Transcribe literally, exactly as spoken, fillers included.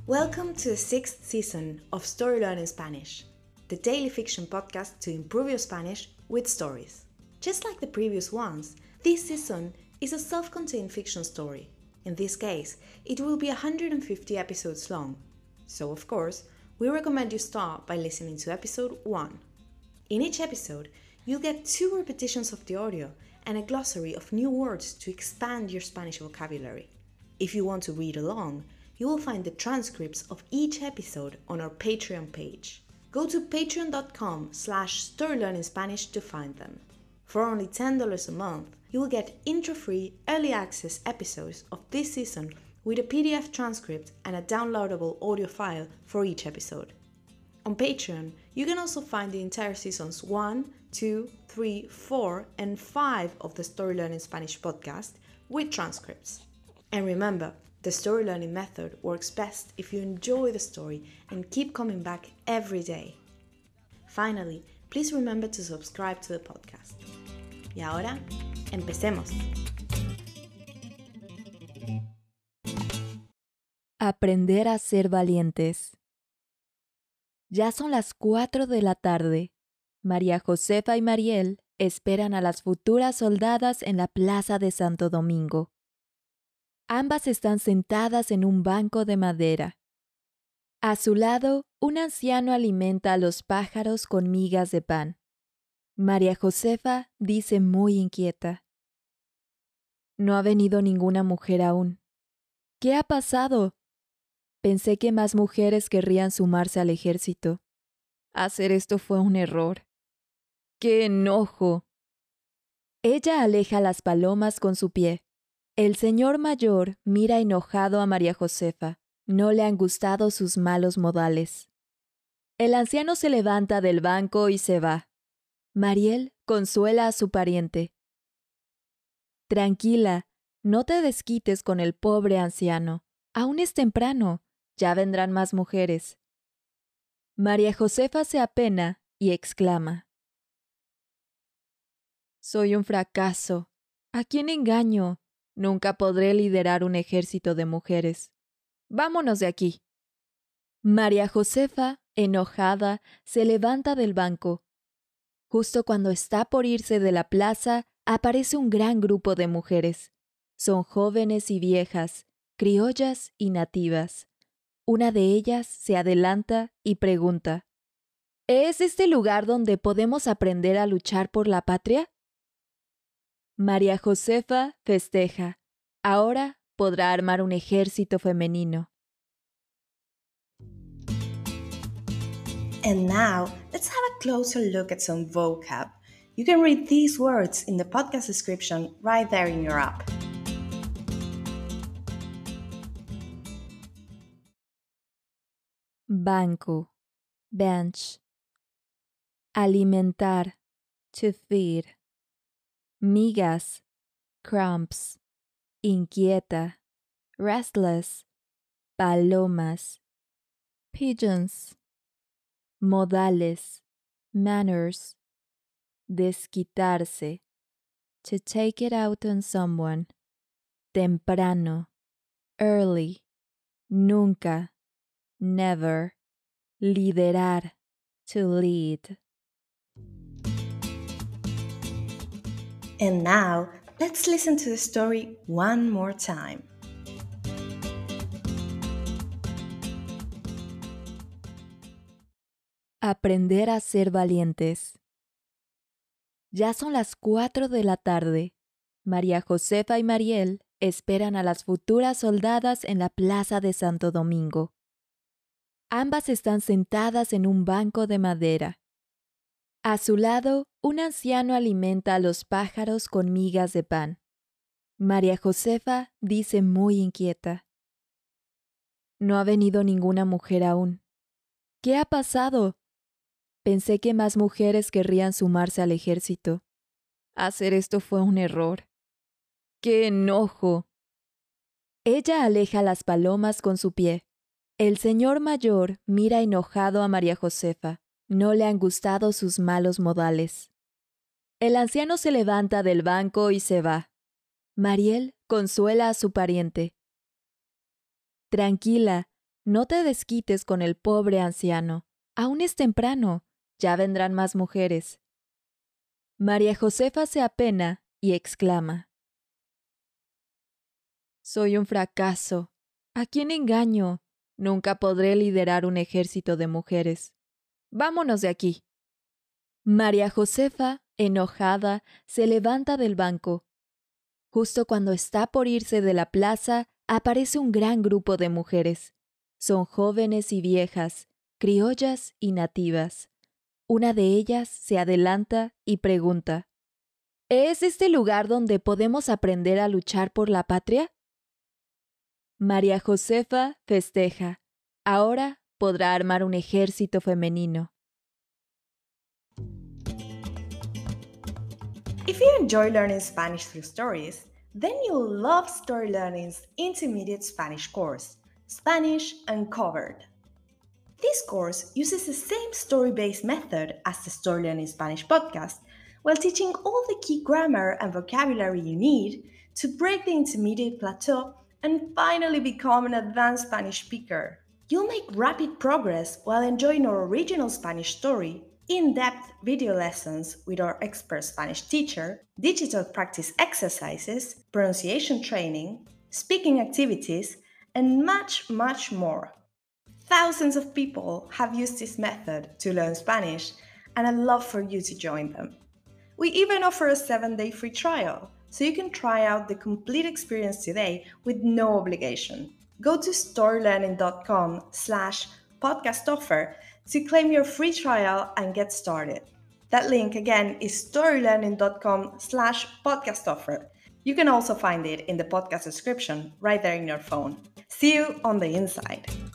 Welcome to the sixth season of Story Learning Spanish, the daily fiction podcast to improve your Spanish with stories. Just like the previous ones, this season is a self-contained fiction story. In this case, it will be one hundred fifty episodes long. So, of course, we recommend you start by listening to episode one. In each episode, you'll get two repetitions of the audio and a glossary of new words to expand your Spanish vocabulary. If you want to read along, you will find the transcripts of each episode on our Patreon page. Go to patreon.com slash storylearningspanish to find them. For only ten dollars a month, you will get intro-free early access episodes of this season with a P D F transcript and a downloadable audio file for each episode. On Patreon, you can also find the entire seasons one, two, three, four, and five of the Story Learning Spanish podcast with transcripts. And remember, the story learning method works best if you enjoy the story and keep coming back every day. Finally, please remember to subscribe to the podcast. Y ahora, empecemos. Aprender a ser valientes. Ya son las cuatro de la tarde. María Josefa y Mariel esperan a las futuras soldadas en la plaza de Santo Domingo. Ambas están sentadas en un banco de madera. A su lado, un anciano alimenta a los pájaros con migas de pan. María Josefa dice muy inquieta: No ha venido ninguna mujer aún. ¿Qué ha pasado? Pensé que más mujeres querrían sumarse al ejército. Hacer esto fue un error. ¡Qué enojo! Ella aleja las palomas con su pie. El señor mayor mira enojado a María Josefa. No le han gustado sus malos modales. El anciano se levanta del banco y se va. Mariel consuela a su pariente. Tranquila, no te desquites con el pobre anciano. Aún es temprano, ya vendrán más mujeres. María Josefa se apena y exclama: Soy un fracaso. ¿A quién engaño? Nunca podré liderar un ejército de mujeres. Vámonos de aquí. María Josefa, enojada, se levanta del banco. Justo cuando está por irse de la plaza, aparece un gran grupo de mujeres. Son jóvenes y viejas, criollas y nativas. Una de ellas se adelanta y pregunta: ¿Es este lugar donde podemos aprender a luchar por la patria? María Josefa festeja. Ahora podrá armar un ejército femenino. And now, let's have a closer look at some vocab. You can read these words in the podcast description right there in your app. Banco, bench. Alimentar, to feed. Migas, crumbs. Inquieta, restless. Palomas, pigeons. Modales, manners. Desquitarse, to take it out on someone. Temprano, early. Nunca, never. Liderar, to lead. And now, let's listen to the story one more time. Aprender a ser valientes. Ya son las cuatro de la tarde. María Josefa y Mariel esperan a las futuras soldadas en la plaza de Santo Domingo. Ambas están sentadas en un banco de madera. A su lado, un anciano alimenta a los pájaros con migas de pan. María Josefa dice muy inquieta: No ha venido ninguna mujer aún. ¿Qué ha pasado? Pensé que más mujeres querrían sumarse al ejército. Hacer esto fue un error. ¡Qué enojo! Ella aleja las palomas con su pie. El señor mayor mira enojado a María Josefa. No le han gustado sus malos modales. El anciano se levanta del banco y se va. Mariel consuela a su pariente. Tranquila, No te desquites con el pobre anciano. Aún es temprano. Ya vendrán más mujeres. María Josefa se apena y exclama: Soy un fracaso. ¿A quién engaño? Nunca podré liderar un ejército de mujeres. Vámonos de aquí. María Josefa, enojada, se levanta del banco. Justo cuando está por irse de la plaza, aparece un gran grupo de mujeres. Son jóvenes y viejas, criollas y nativas. Una de ellas se adelanta y pregunta: ¿Es este lugar donde podemos aprender a luchar por la patria? María Josefa festeja. Ahora podrá armar un ejército femenino. If you enjoy learning Spanish through stories, then you'll love Story Learning's intermediate Spanish course, Spanish Uncovered. This course uses the same story-based method as the Story Learning Spanish podcast, while teaching all the key grammar and vocabulary you need to break the intermediate plateau and finally become an advanced Spanish speaker. You'll make rapid progress while enjoying our original Spanish story, in-depth video lessons with our expert Spanish teacher, digital practice exercises, pronunciation training, speaking activities, and much, much more. Thousands of people have used this method to learn Spanish, and I'd love for you to join them. We even offer a seven-day free trial, so you can try out the complete experience today with no obligation. Go to storylearning.com slash podcast offer to claim your free trial and get started. That link again is storylearning.com slash podcast offer. You can also find it in the podcast description right there in your phone. See you on the inside.